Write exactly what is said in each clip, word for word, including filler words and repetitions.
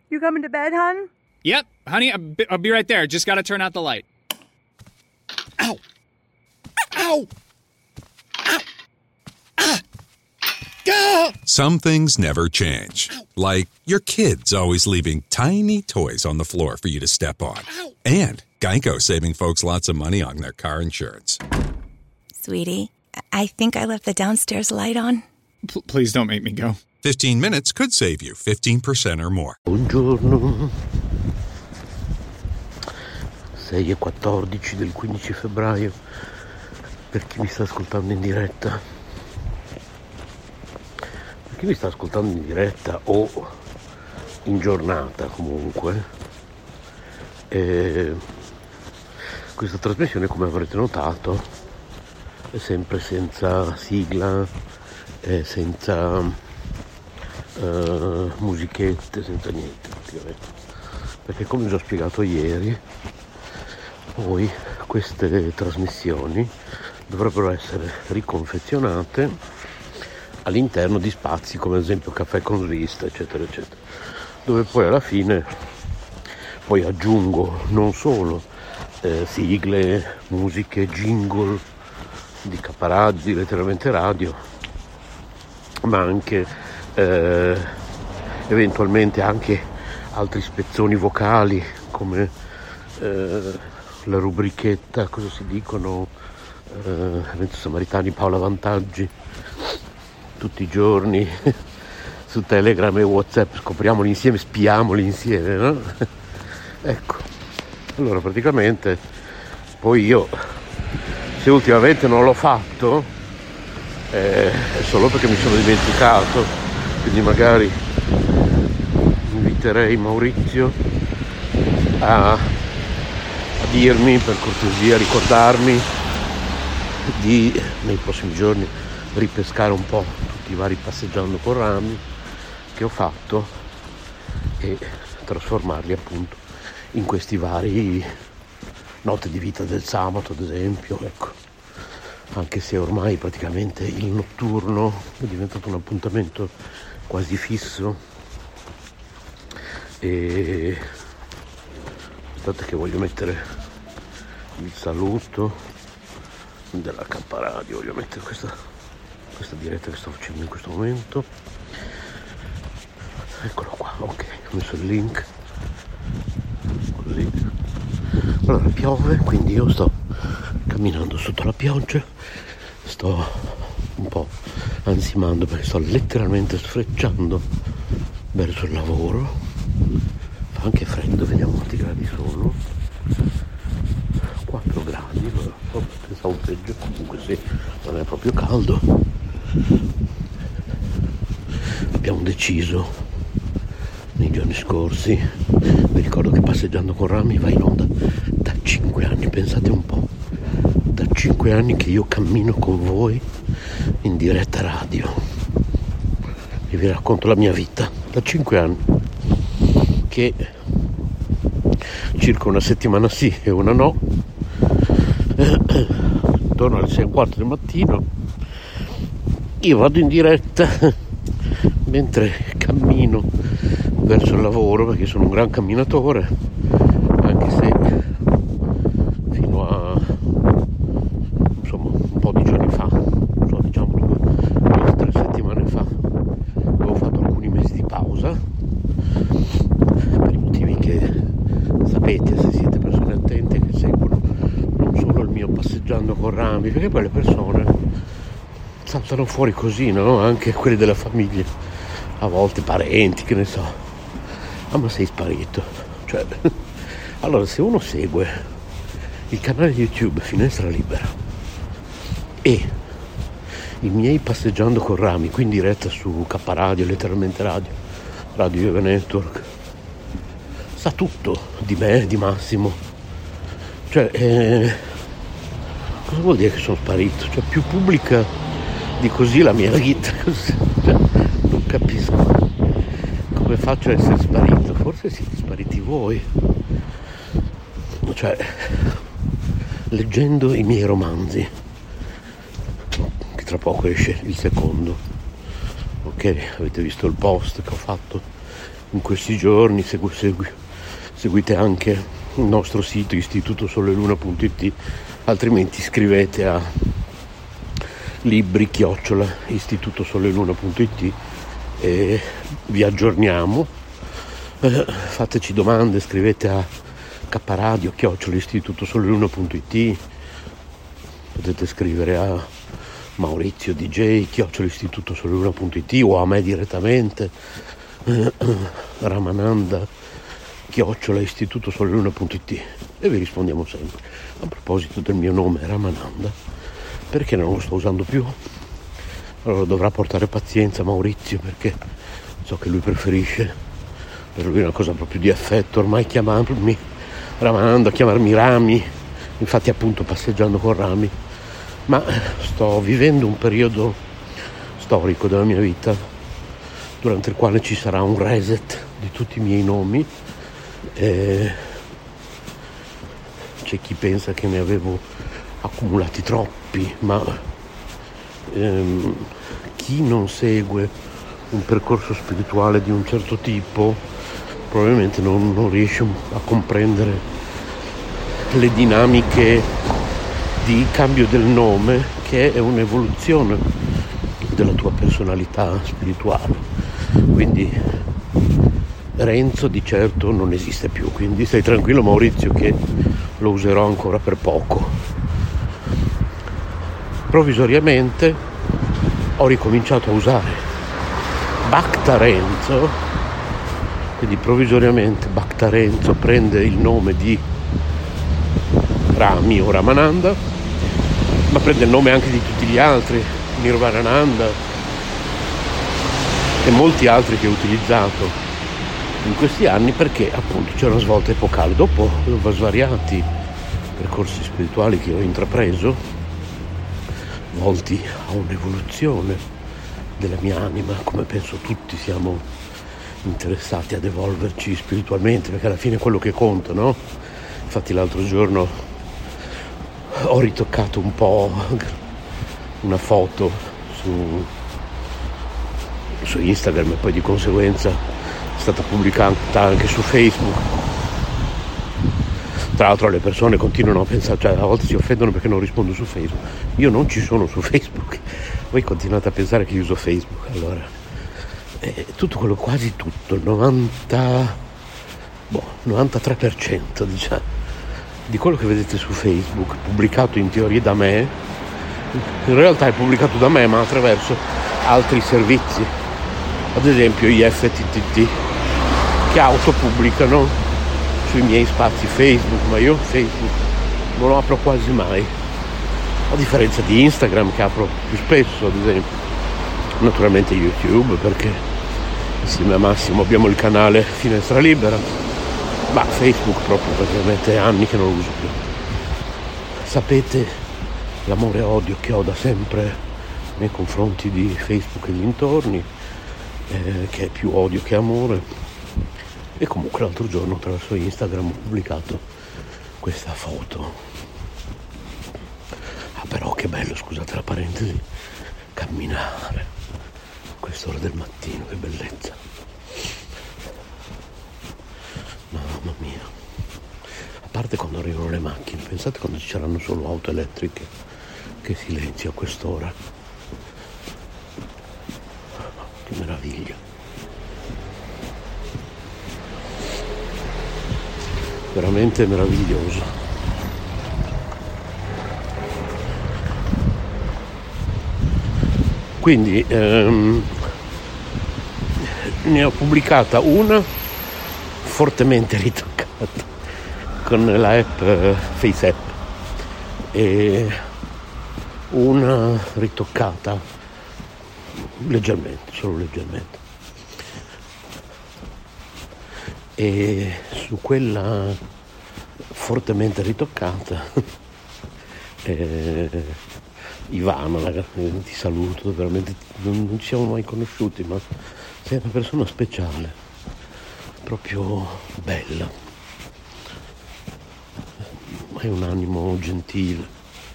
You coming to bed, hon? Yep, honey, I'll be, I'll be right there. Just gotta turn out the light. Ow! Ow! Ow! Ah! Ah! Some things never change. Like your kids always leaving tiny toys on the floor for you to step on. And Geico saving folks lots of money on their car insurance. Sweetie, I think I left the downstairs light on. P- please don't make me go. fifteen minutes could save you fifteen percent or more. Buongiorno. sei e quattordici del quindici febbraio. Per chi mi sta ascoltando in diretta. Per chi mi sta ascoltando in diretta o in giornata comunque. Eh, questa trasmissione, come avrete notato, è sempre senza sigla, è senza uh, musichette, senza niente praticamente. Perché, come già spiegato ieri, poi queste trasmissioni dovrebbero essere riconfezionate all'interno di spazi come ad esempio Caffè con Svista, eccetera eccetera, dove poi alla fine poi aggiungo non solo eh, sigle, musiche, jingle di K-Radio, di Letteralmente Radio, ma anche eh, eventualmente anche altri spezzoni vocali come eh, la rubrichetta Cosa si dicono, eh, Eventi Samaritani, Paola Vantaggi, tutti i giorni su Telegram e WhatsApp, scopriamoli insieme, spiamoli insieme, no? Ecco, allora praticamente poi io, se ultimamente non l'ho fatto, eh, è solo perché mi sono dimenticato, quindi magari inviterei Maurizio a, a dirmi, per cortesia, ricordarmi di nei prossimi giorni ripescare un po' tutti i vari Passeggiando con Rami che ho fatto e trasformarli appunto in questi vari Note di vita del sabato, ad esempio, ecco. Anche se ormai praticamente il notturno è diventato un appuntamento quasi fisso. E aspettate che voglio mettere il saluto della K-Radio, voglio mettere questa, questa diretta che sto facendo in questo momento. Eccolo qua, ok, ho messo il link così. Allora piove, quindi io sto camminando sotto la pioggia, sto un po' ansimando perché sto letteralmente sfrecciando verso il lavoro. Fa anche freddo, vediamo quanti gradi sono. quattro gradi, oh, pensavo peggio, comunque sì, non è proprio caldo. Abbiamo deciso nei giorni scorsi, vi ricordo che Passeggiando con Rami va in onda da cinque anni, pensate un po', da cinque anni che io cammino con voi in diretta radio e vi racconto la mia vita, da cinque anni, che circa una settimana sì e una no, intorno alle sei e un quarto del mattino io vado in diretta mentre cammino verso il lavoro, perché sono un gran camminatore, anche se fino a insomma un po' di giorni fa, so, diciamo due, due o tre settimane fa, avevo fatto alcuni mesi di pausa per i motivi che sapete se siete persone attente che seguono non solo il mio Passeggiando con Rami, perché poi le persone saltano fuori così, no? Anche quelli della famiglia, a volte parenti, che ne so. Ah, ma sei sparito, cioè, allora se uno segue il canale YouTube Finestra Libera e i miei Passeggiando con Rami, qui in diretta su K-Radio, Letteralmente Radio, Radio Yoga Network, sa tutto di me, di Massimo, cioè, eh, cosa vuol dire che sono sparito? Cioè, più pubblica di così la mia vita, cioè, non capisco come faccio a essere sparito. Forse siete spariti voi, cioè leggendo i miei romanzi, che tra poco esce il secondo, ok, avete visto il post che ho fatto in questi giorni, segu- segu- seguite anche il nostro sito istituto sole luna punto it, altrimenti scrivete a libri chiocciola istituto sole luna punto it e vi aggiorniamo. Eh, fateci domande, scrivete a caparadio chiocciola istituto sole luna punto it, potete scrivere a Maurizio D J chiocciola istituto sole luna punto it o a me direttamente, eh, Ramananda chiocciola istituto sole luna punto it, e vi rispondiamo sempre. A proposito del mio nome Ramananda, perché non lo sto usando più? Allora dovrà portare pazienza Maurizio, perché so che lui preferisce, per lui è una cosa proprio di affetto ormai chiamarmi Ramananda, chiamarmi Rami, infatti appunto passeggiando con Rami, ma sto vivendo un periodo storico della mia vita durante il quale ci sarà un reset di tutti i miei nomi. E c'è chi pensa che ne avevo accumulati troppi, ma ehm, chi non segue un percorso spirituale di un certo tipo probabilmente non, non riesce a comprendere le dinamiche di cambio del nome, che è un'evoluzione della tua personalità spirituale. Quindi Renzo di certo non esiste più, quindi stai tranquillo Maurizio che lo userò ancora per poco. Provvisoriamente ho ricominciato a usare Bhakta Renzo, quindi provvisoriamente Bhakta Renzo prende il nome di Rami o Ramananda, ma prende il nome anche di tutti gli altri, Nirvanananda e molti altri che ho utilizzato in questi anni, perché appunto c'è una svolta epocale. Dopo svariati percorsi spirituali che ho intrapreso, volti a un'evoluzione della mia anima, come penso tutti siamo interessati ad evolverci spiritualmente, perché alla fine è quello che conta, no? Infatti l'altro giorno ho ritoccato un po' una foto su, su Instagram e poi di conseguenza è stata pubblicata anche su Facebook. Tra l'altro le persone continuano a pensare, cioè a volte si offendono perché non rispondo su Facebook. Io non ci sono su Facebook, voi continuate a pensare che io uso Facebook. Allora, eh, tutto quello, quasi tutto, il novanta, boh, novantatré per cento diciamo, di quello che vedete su Facebook, pubblicato in teoria da me, in realtà è pubblicato da me ma attraverso altri servizi, ad esempio i F T T T, che autopubblicano sui miei spazi Facebook, ma io Facebook non lo apro quasi mai, a differenza di Instagram che apro più spesso, ad esempio. Naturalmente YouTube, perché insieme a Massimo abbiamo il canale Finestra Libera, ma Facebook proprio perché mette anni che non lo uso più. Sapete l'amore e odio che ho da sempre nei confronti di Facebook e dintorni, eh, che è più odio che amore. E comunque l'altro giorno attraverso Instagram ho pubblicato questa foto. Ah però che bello, scusate la parentesi, camminare a quest'ora del mattino, che bellezza. Mamma mia. A parte quando arrivano le macchine, pensate quando ci saranno solo auto elettriche, che silenzio a quest'ora. Che meraviglia. Veramente meraviglioso. Quindi ehm, ne ho pubblicata una fortemente ritoccata con la app eh, FaceApp e una ritoccata leggermente, solo leggermente. E su quella fortemente ritoccata eh, Ivana, ti saluto, veramente non, non ci siamo mai conosciuti, ma sei una persona speciale, proprio bella, hai un animo gentile.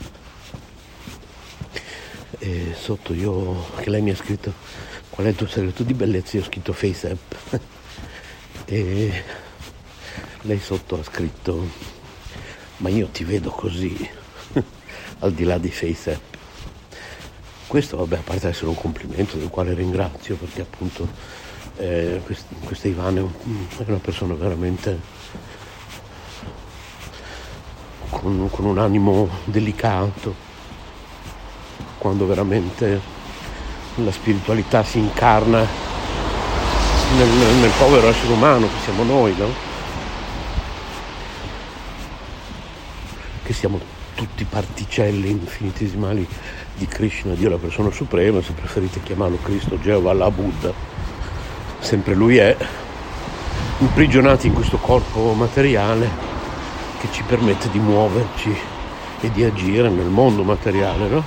E sotto io, che lei mi ha scritto qual è il tuo segreto di bellezza, io ho scritto FaceApp. E lei sotto ha scritto: ma io ti vedo così, al di là di Face App. Questo, vabbè, a parte essere un complimento del quale ringrazio, perché appunto eh, questa Ivana è, un, è una persona veramente con, con un animo delicato, quando veramente la spiritualità si incarna nel, nel povero essere umano che siamo noi, no? Che siamo tutti particelle infinitesimali di Krishna, Dio la persona suprema, se preferite chiamarlo Cristo, Geova, Allah, Buddha, sempre lui è, imprigionati in questo corpo materiale che ci permette di muoverci e di agire nel mondo materiale, no?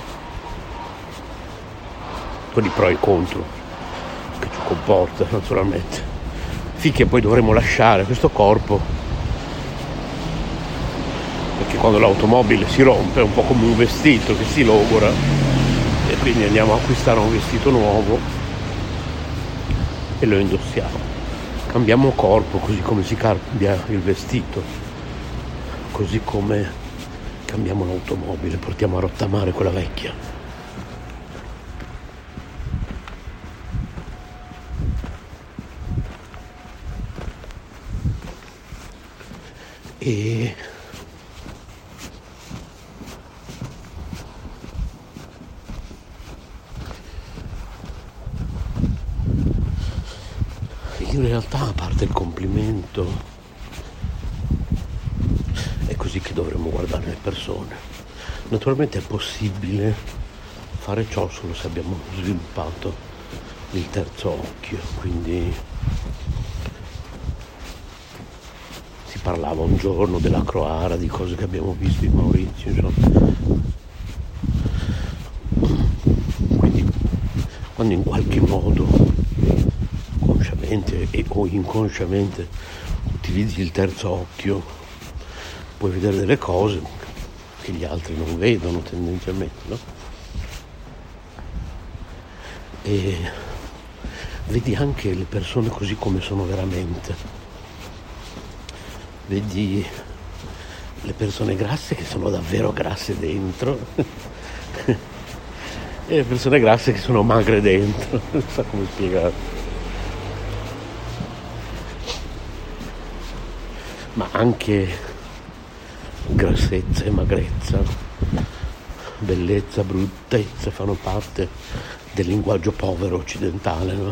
Con i pro e i contro che ci comporta, naturalmente, finché poi dovremo lasciare questo corpo, perché quando l'automobile si rompe è un po' come un vestito che si logora e quindi andiamo a acquistare un vestito nuovo e lo indossiamo. Cambiamo corpo così come si cambia il vestito, così come cambiamo l'automobile, portiamo a rottamare quella vecchia. E in realtà, a parte il complimento, è così che dovremmo guardare le persone. Naturalmente è possibile fare ciò solo se abbiamo sviluppato il terzo occhio, quindi si parlava un giorno della Croara, di cose che abbiamo visto in Maurizio, insomma. Quindi quando in qualche modo e o inconsciamente utilizzi il terzo occhio, puoi vedere delle cose che gli altri non vedono tendenzialmente, no? E vedi anche le persone così come sono veramente, vedi le persone grasse che sono davvero grasse dentro e le persone grasse che sono magre dentro, non so come spiegare. Ma anche grassezza e magrezza, bellezza, bruttezza fanno parte del linguaggio povero occidentale, no?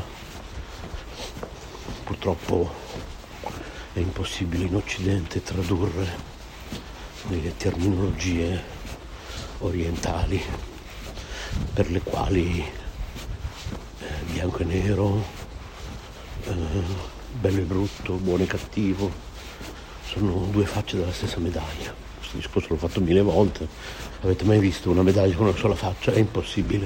Purtroppo è impossibile in Occidente tradurre le terminologie orientali per le quali eh, bianco e nero, eh, bello e brutto, buono e cattivo sono due facce della stessa medaglia. Questo discorso l'ho fatto mille volte. Avete mai visto una medaglia con una sola faccia? È impossibile.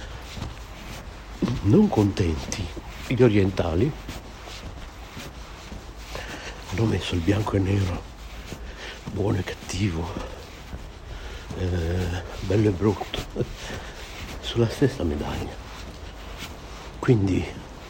Non contenti, gli orientali hanno messo il bianco e nero, buono e cattivo, eh, bello e brutto, sulla stessa medaglia. Quindi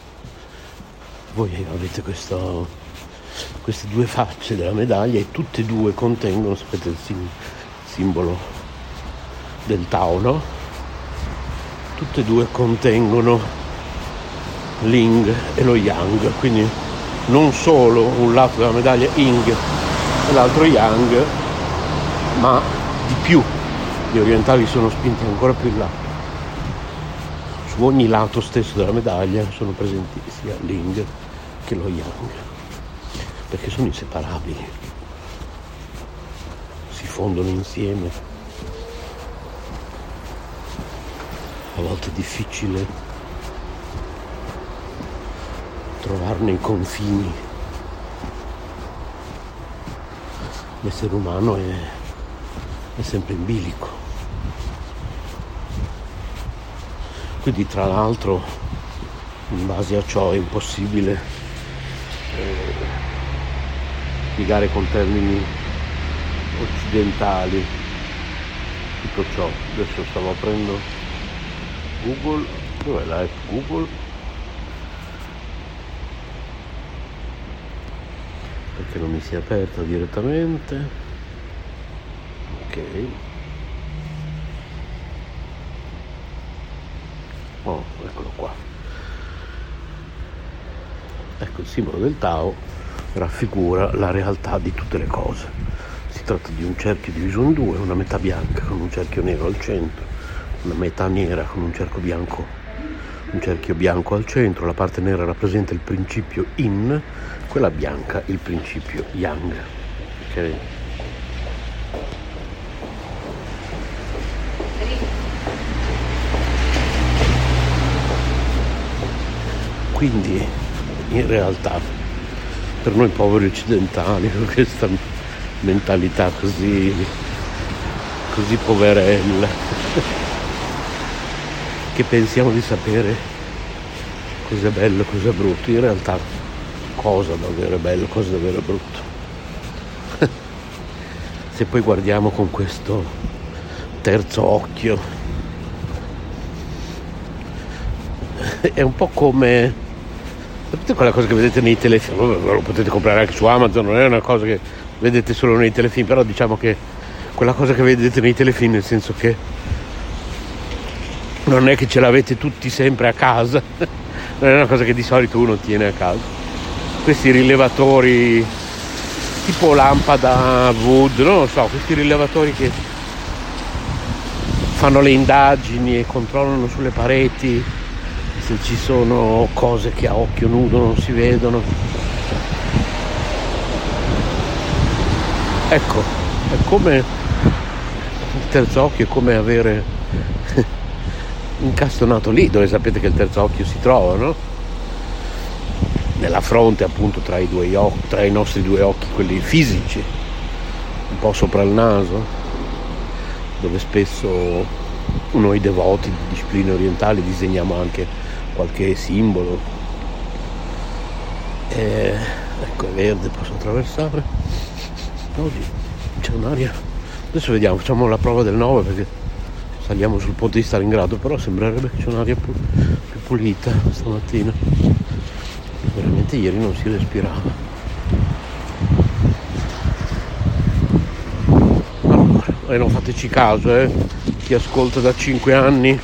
voi avete questo queste due facce della medaglia e tutte e due contengono, sapete, il sim- simbolo del Tao, no? Tutte e due contengono l'Ying e lo Yang, quindi non solo un lato della medaglia Ying e l'altro Yang, ma di più. Gli orientali sono spinti ancora più in là. Su ogni lato stesso della medaglia sono presenti sia l'Ying che lo Yang, perché sono inseparabili, si fondono insieme. A volte è difficile trovarne i confini. L'essere umano è, è sempre in bilico. Quindi, tra l'altro, in base a ciò è impossibile eh, spiegare con termini occidentali tutto ciò. Adesso stavo aprendo Google, dov'è la app Google? perché non mi si è aperta direttamente. Ok, oh, eccolo qua. Ecco, il simbolo del Tao raffigura la realtà di tutte le cose. Si tratta di un cerchio diviso in due, una metà bianca con un cerchio nero al centro, una metà nera con un cerchio bianco, un cerchio bianco al centro. La parte nera rappresenta il principio Yin, quella bianca il principio Yang. Ok? Quindi in realtà per noi poveri occidentali, con questa mentalità così così poverella, che pensiamo di sapere cos'è bello, cos'è brutto, in realtà cosa davvero è bello, cosa davvero è brutto. Se poi guardiamo con questo terzo occhio, è un po' come, sapete quella cosa che vedete nei telefilm, lo potete comprare anche su Amazon, non è una cosa che vedete solo nei telefilm, però diciamo che quella cosa che vedete nei telefilm, nel senso che non è che ce l'avete tutti sempre a casa, non è una cosa che di solito uno tiene a casa. Questi rilevatori tipo lampada Wood, non lo so, questi rilevatori che fanno le indagini e controllano sulle pareti se ci sono cose che a occhio nudo non si vedono. Ecco, è come il terzo occhio, è come avere incastonato lì dove sapete che il terzo occhio si trova, no? Nella fronte, appunto, tra i due occhi, tra i nostri due occhi, quelli fisici, un po' sopra il naso, dove spesso noi devoti di discipline orientali disegniamo anche qualche simbolo. E, ecco, è verde, posso attraversare. Oggi c'è un'aria, adesso vediamo, facciamo la prova del nove perché saliamo sul ponte di Stalingrado, però sembrerebbe che c'è un'aria più, più pulita stamattina. Veramente ieri non si respirava. Allora, e non fateci caso, eh, chi ascolta da cinque anni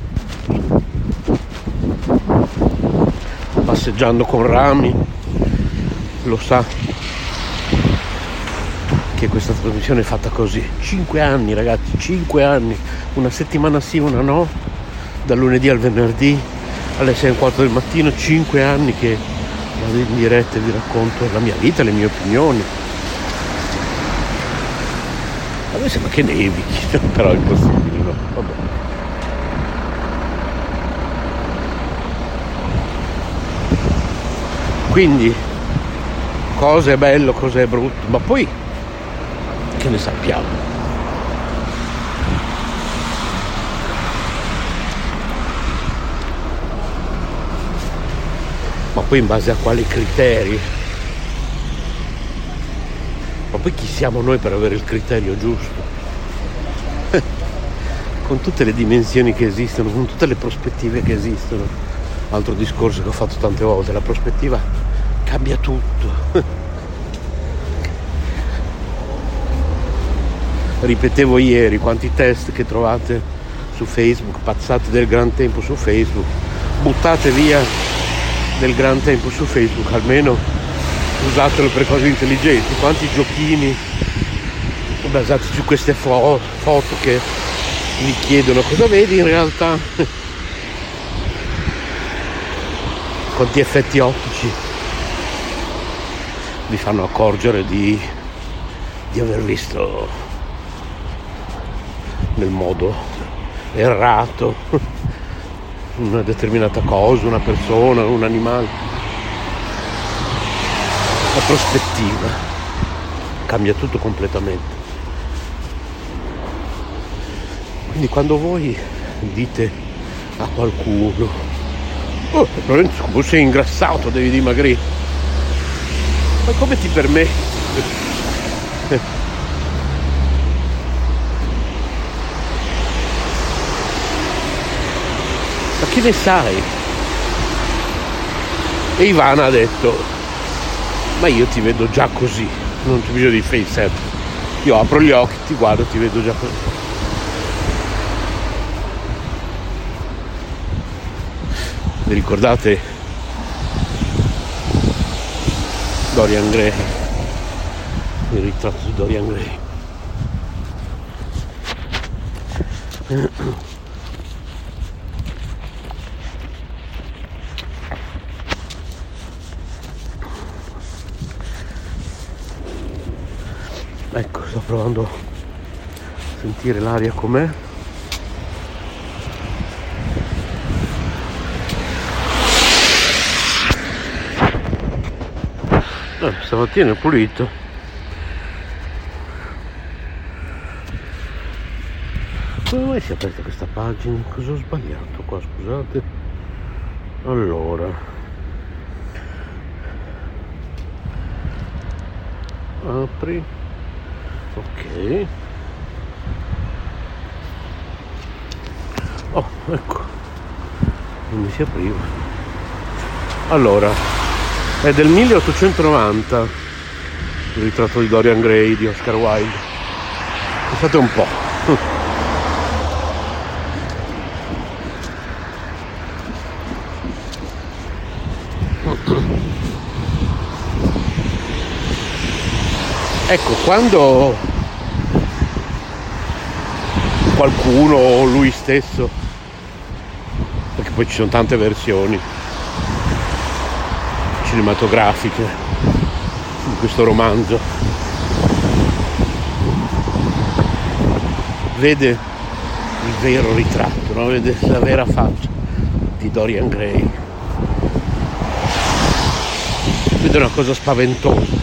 passeggiando con rami lo sa che questa trasmissione è fatta così. Cinque anni, ragazzi, cinque anni, una settimana sì, una no, dal lunedì al venerdì alle sei e un quarto del mattino, cinque anni che vado in diretta e vi racconto la mia vita, le mie opinioni. A me sembra che nevichi, però è impossibile, no? Vabbè. Quindi cosa è bello, cosa è brutto, ma poi che ne sappiamo? Ma poi in base a quali criteri? Ma poi chi siamo noi per avere il criterio giusto? Con tutte le dimensioni che esistono, con tutte le prospettive che esistono. Altro discorso che ho fatto tante volte, la prospettiva cambia tutto. Ripetevo ieri quanti test che trovate su Facebook, pazzate del gran tempo su Facebook, buttate via del gran tempo su Facebook, almeno usatelo per cose intelligenti. Quanti giochini basati su queste fo- foto che vi chiedono cosa vedi in realtà, quanti effetti ottici vi fanno accorgere di, di aver visto nel modo errato una determinata cosa, una persona, un animale. La prospettiva cambia tutto completamente. Quindi quando voi dite a qualcuno oh, Lorenzo, sei ingrassato, devi dimagrire, ma come ti permetti? Ma che ne sai? E Ivana ha detto ma io ti vedo già così, non c'è bisogno di face app. Io apro gli occhi, ti guardo, ti vedo già così. Vi ricordate Dorian Gray? Il ritratto di Dorian Gray. Ecco, sto provando a sentire l'aria com'è. Eh, stamattina è pulito. Come mai si è aperta questa pagina? Cosa ho sbagliato qua, scusate? Allora, apri. Ok. Oh, ecco, non mi si apriva. Allora, è del milleottocentonovanta il ritratto di Dorian Gray di Oscar Wilde. Pensate un po'. Ecco, quando qualcuno o lui stesso, perché poi ci sono tante versioni cinematografiche in questo romanzo, vede il vero ritratto, no? Vede la vera faccia di Dorian Gray, vede una cosa spaventosa,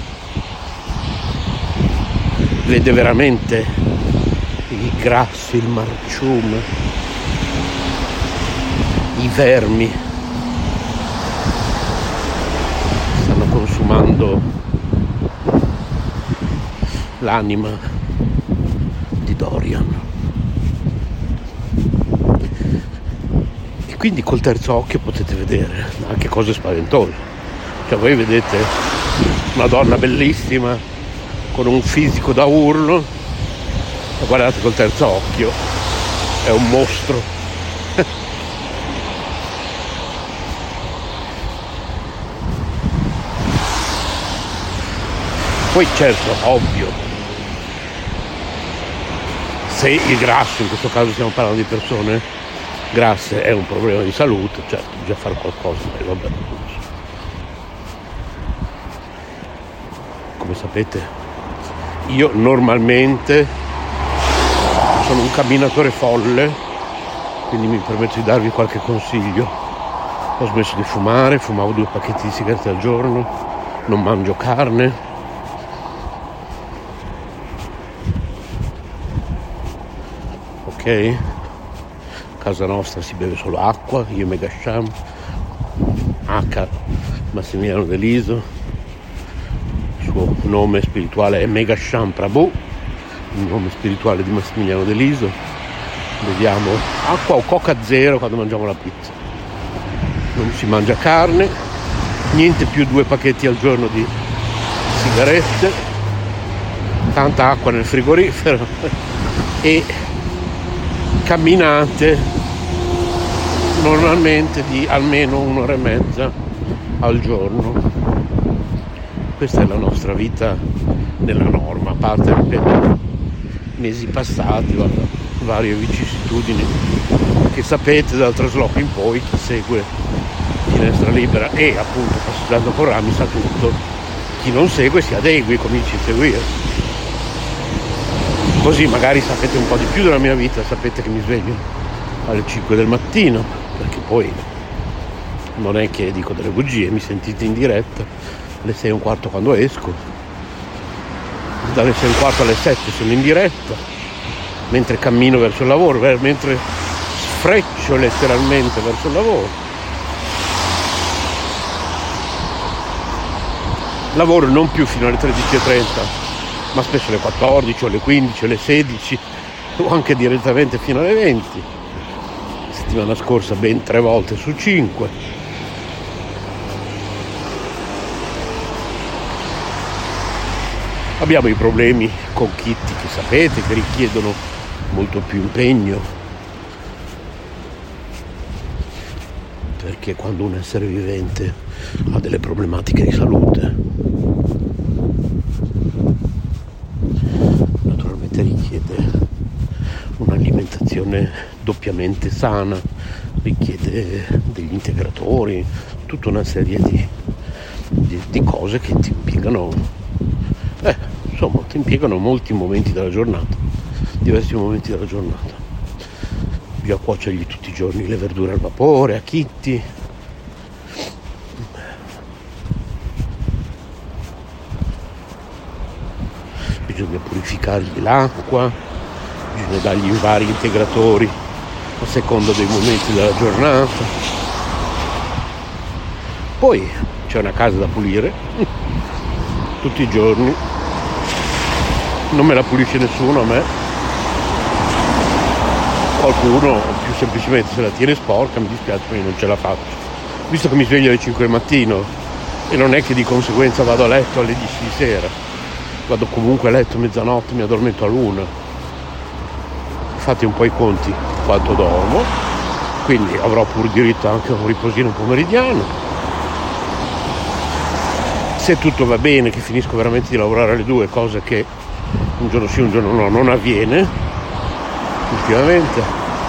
vede veramente i grassi, il marciume, i vermi stanno consumando l'anima di Dorian. E quindi col terzo occhio potete vedere anche cose spaventose. Cioè voi vedete una donna bellissima con un fisico da urlo, e guardate col terzo occhio, è un mostro. Poi certo, ovvio, se il grasso, in questo caso stiamo parlando di persone grasse, è un problema di salute, certo, bisogna fare qualcosa, e vabbè. Come sapete, io normalmente sono un camminatore folle, quindi mi permetto di darvi qualche consiglio. Ho smesso di fumare, fumavo due pacchetti di sigarette al giorno, non mangio carne. Ok? A casa nostra si beve solo acqua, io Megasham, H. Massimiliano Deliso. Il suo nome spirituale è Megasham Prabhu, il nome spirituale di Massimiliano Deliso. Beviamo acqua o coca zero quando mangiamo la pizza. Non si mangia carne, niente più due pacchetti al giorno di sigarette, tanta acqua nel frigorifero e camminate normalmente di almeno un'ora e mezza al giorno. Questa è la nostra vita nella norma, a parte, ripeto, mesi passati, guarda, varie vicissitudini che sapete dal trasloco in poi, chi segue Finestra Libera e appunto Passeggiando con Rami sa tutto, chi non segue si adegui, cominci a seguire, così magari sapete un po' di più della mia vita, sapete che mi sveglio alle cinque del mattino, perché poi non è che dico delle bugie, mi sentite in diretta alle sei e un quarto quando esco, dalle sei e un quarto alle sette sono in diretta, mentre cammino verso il lavoro, mentre sfreccio letteralmente verso il lavoro. Lavoro non più fino alle tredici e trenta, ma spesso alle quattordici, o alle quindici, o alle sedici, o anche direttamente fino alle venti. La settimana scorsa ben tre volte su cinque. Abbiamo i problemi con kit che sapete che richiedono molto più impegno, perché quando un essere vivente ha delle problematiche di salute, naturalmente richiede un'alimentazione doppiamente sana, richiede degli integratori, tutta una serie di, di, di cose che ti impiegano, eh, insomma, ti impiegano molti momenti della giornata, diversi momenti della giornata. Bisogna cuocergli tutti i giorni le verdure al vapore, a chicchi. Bisogna purificargli l'acqua, bisogna dargli vari integratori a seconda dei momenti della giornata. Poi c'è una casa da pulire tutti i giorni, non me la pulisce nessuno, a me qualcuno più semplicemente se la tiene sporca, mi dispiace, ma io non ce la faccio, visto che mi sveglio alle cinque del mattino e non è che di conseguenza vado a letto alle dieci di sera, vado comunque a letto a mezzanotte, mi addormento all'una. Fate un po' i conti quanto dormo, quindi avrò pur diritto anche a un riposino pomeridiano. Se tutto va bene, che finisco veramente di lavorare alle due, cosa che un giorno sì un giorno no non avviene ultimamente,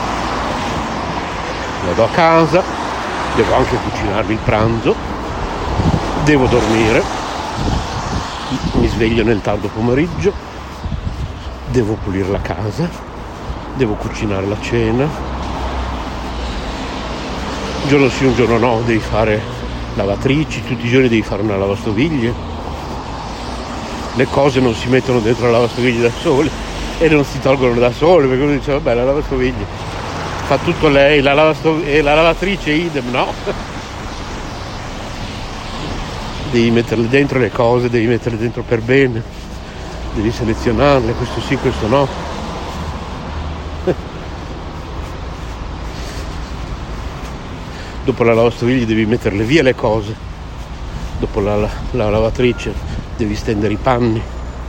vado a casa, devo anche cucinarmi il pranzo, devo dormire, mi sveglio nel tardo pomeriggio, devo pulire la casa, devo cucinare la cena, un giorno sì un giorno no devi fare lavatrici, tutti i giorni devi fare una lavastoviglie, le cose non si mettono dentro la lavastoviglie da sole e non si tolgono da sole, perché uno dice vabbè la lavastoviglie fa tutto lei, la lavastov- e la lavatrice idem, no, devi metterle dentro le cose, devi metterle dentro per bene, devi selezionarle, questo sì, questo no. Dopo la lavastoviglie devi metterle via le cose, dopo la, la, la lavatrice devi stendere i panni.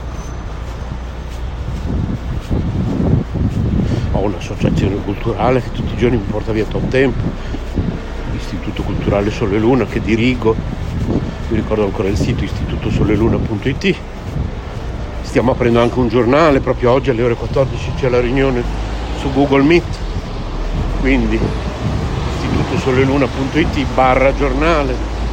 Ho un'associazione culturale che tutti i giorni mi porta via tot tempo, l'Istituto Culturale Sole e Luna, che dirigo, mi ricordo ancora il sito istituto soleluna punto it. Stiamo aprendo anche un giornale, proprio oggi alle ore quattordici c'è la riunione su Google Meet, quindi soleluna punto it barra giornale.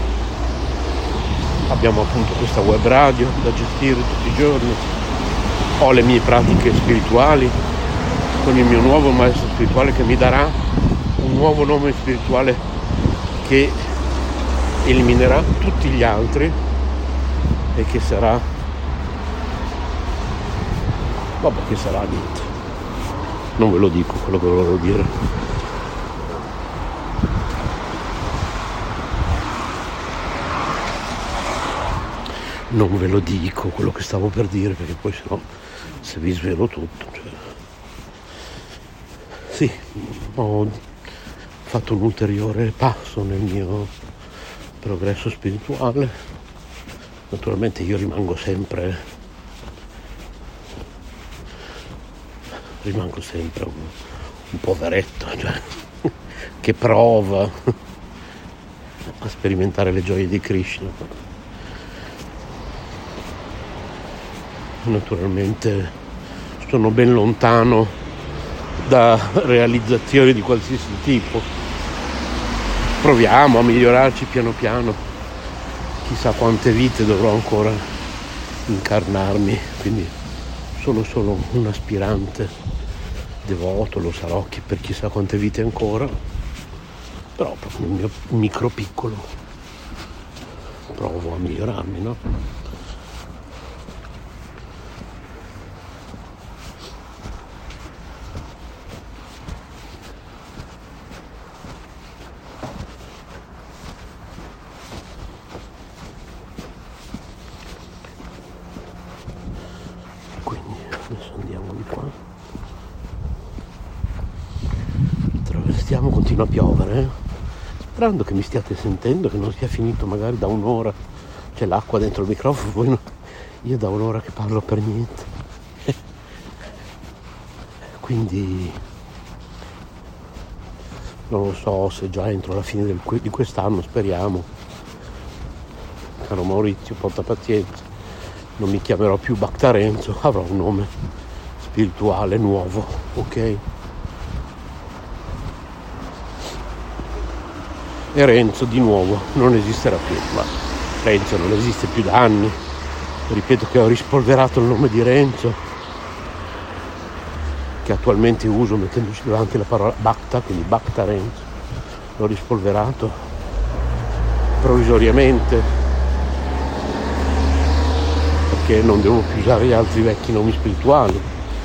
Abbiamo appunto questa web radio da gestire tutti i giorni, ho le mie pratiche spirituali con il mio nuovo maestro spirituale che mi darà un nuovo nome spirituale che eliminerà tutti gli altri e che sarà vabbè che sarà niente, non ve lo dico quello che volevo dire. Non ve lo dico quello che stavo per dire, perché poi sennò se vi svelo tutto, cioè... Sì, ho fatto un ulteriore passo nel mio progresso spirituale. Naturalmente io rimango sempre rimango sempre un, un poveretto, cioè, che prova a sperimentare le gioie di Krishna. Naturalmente sono ben lontano da realizzazioni di qualsiasi tipo, proviamo a migliorarci piano piano, chissà quante vite dovrò ancora incarnarmi, quindi sono solo un aspirante devoto, lo sarò per chissà quante vite ancora, però proprio nel mio micro piccolo provo a migliorarmi, no? Continua a piovere, eh? Sperando che mi stiate sentendo, che non sia finito magari da un'ora, c'è l'acqua dentro il microfono, voi no, io da un'ora che parlo per niente. Quindi non lo so se già entro la fine del, di quest'anno, speriamo. Caro Maurizio, porta pazienza, non mi chiamerò più Bactarenzo, avrò un nome spirituale nuovo, ok? E Renzo di nuovo non esisterà più, ma Renzo non esiste più da anni. Ripeto che ho rispolverato il nome di Renzo, che attualmente uso mettendoci davanti la parola Bacta, quindi Bacta Renzo. L'ho rispolverato provvisoriamente perché non devo più usare gli altri vecchi nomi spirituali,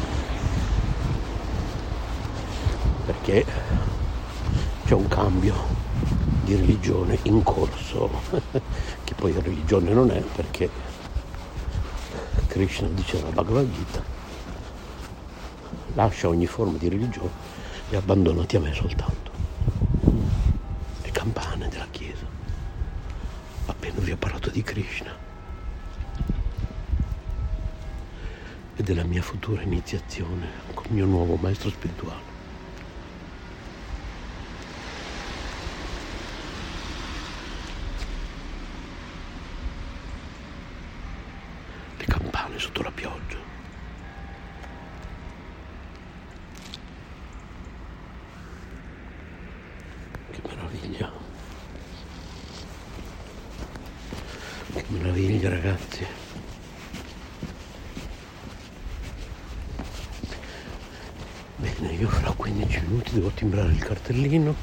perché c'è un cambio di religione in corso che poi religione non è, perché Krishna dice nella Bhagavad Gita: lascia ogni forma di religione e abbandonati a me soltanto. Le campane della chiesa. Appena vi ho parlato di Krishna e della mia futura iniziazione con il mio nuovo maestro spirituale. Le campane sotto la pioggia. Che meraviglia. Che meraviglia, ragazzi. Bene, io fra quindici minuti devo timbrare il cartellino.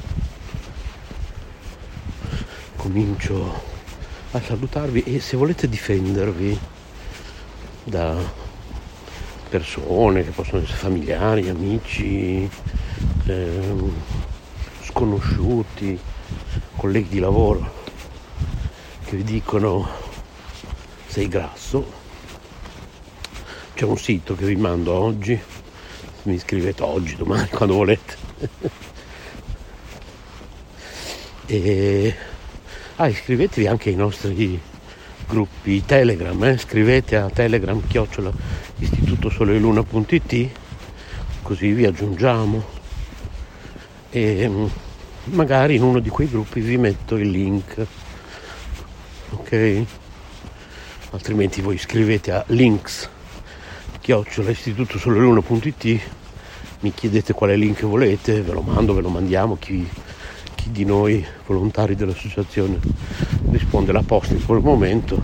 Comincio a salutarvi e se volete difendervi da persone che possono essere familiari, amici, ehm, sconosciuti, colleghi di lavoro che vi dicono sei grasso, c'è un sito che vi mando oggi, mi iscrivete oggi, domani, quando volete. E ah, iscrivetevi anche ai nostri gruppi Telegram, eh? Scrivete a Telegram chiocciola istituto sole luna punto it, così vi aggiungiamo e magari in uno di quei gruppi vi metto il link, ok? Altrimenti voi scrivete a links chiocciola istituto sole luna punto it, mi chiedete quale link volete, ve lo mando, ve lo mandiamo, chi, chi di noi volontari dell'associazione risponde alla posta in quel momento.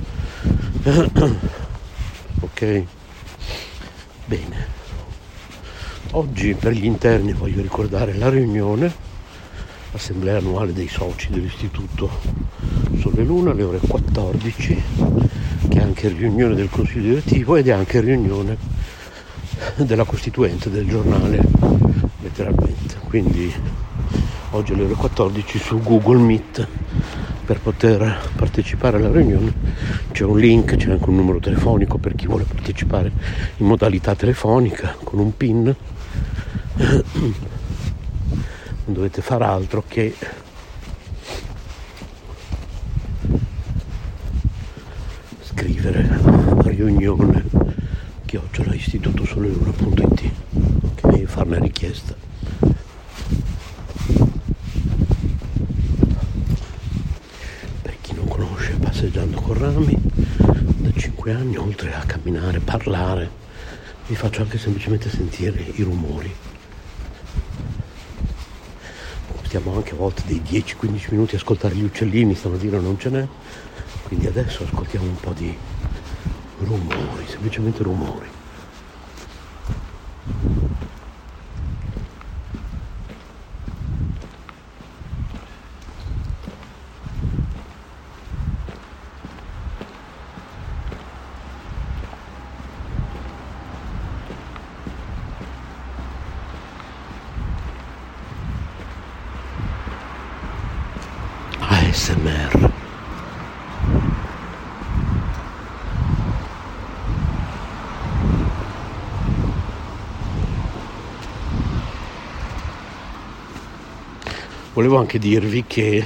Ok, bene, oggi per gli interni voglio ricordare la riunione, l'assemblea annuale dei soci dell'istituto Sole Luna alle ore quattordici, che è anche riunione del consiglio direttivo ed è anche riunione della costituente del giornale, letteralmente. Quindi oggi alle ore quattordici su Google Meet. Per poter partecipare alla riunione c'è un link, c'è anche un numero telefonico per chi vuole partecipare in modalità telefonica con un PIN. Non dovete fare altro che scrivere riunione chiocciola istituto sole luna punto it, ok, e farne richiesta. Passeggiando con Rami da cinque anni, oltre a camminare, parlare, vi faccio anche semplicemente sentire i rumori. Stiamo anche a volte dei dieci quindici minuti a ascoltare gli uccellini, stamattina non ce n'è, quindi adesso ascoltiamo un po' di rumori, semplicemente rumori. A S M R. Volevo anche dirvi che